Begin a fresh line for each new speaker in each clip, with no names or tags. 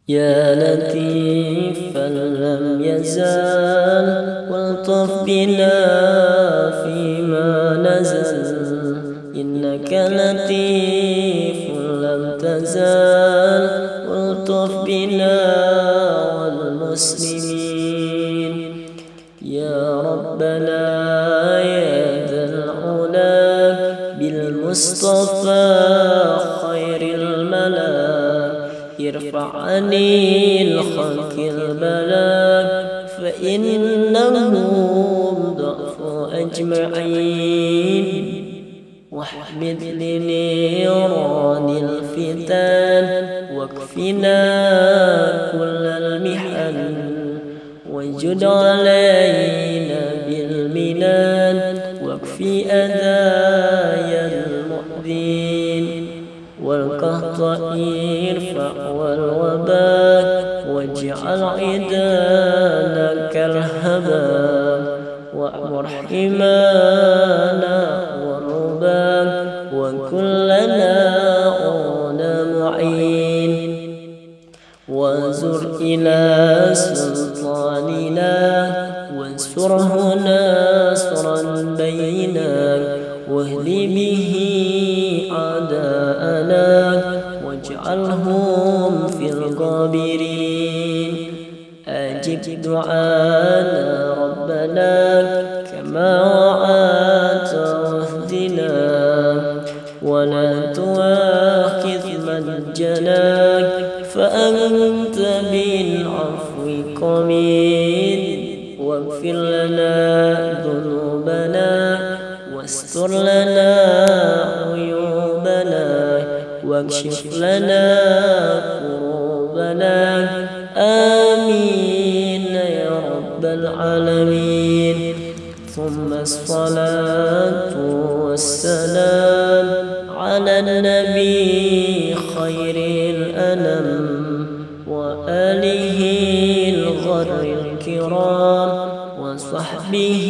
يا لطيفا لم يزال والطف بنا فيما نزل إنك لطيف لم تزال والطف بنا والمسلمين. يا ربنا يا ذا العلا بالمصطفى خير الملا ارفع عن الخلق البلاء فإنهم ضعف أجمعين. واحمد لنيران الفتن واكفنا كل المحن وجد علينا بالمنان واكفي أذايا المؤذين والقهط ارفع والوباء واجعل عدانا كالهباء وأمر حمانا والرباء وكلنا أولى معين وانظر إلى سلطاننا وانصره ناصرا بينا واهد به أعداءنا واجعلهم في الغابرين. أجب دعانا ربنا كما وعدت واهدنا ولا تؤاخذ من جناك فأنت بالعفو قميد واغفر لنا ذنوبنا واستر لنا عيوبنا واكشف لنا كروبنا آمين يا رب العالمين. ثم الصلاة والسلام على النبي خير الأنام وآله الغر الكرام وصحبه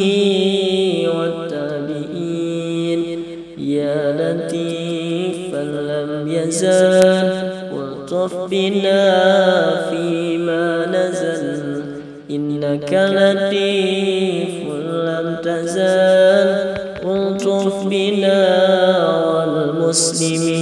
والتابعين. يا لطيفا لم يزال والطف بنا فيما نزل إنك لطيف لم تزال والطف بنا والمسلمين.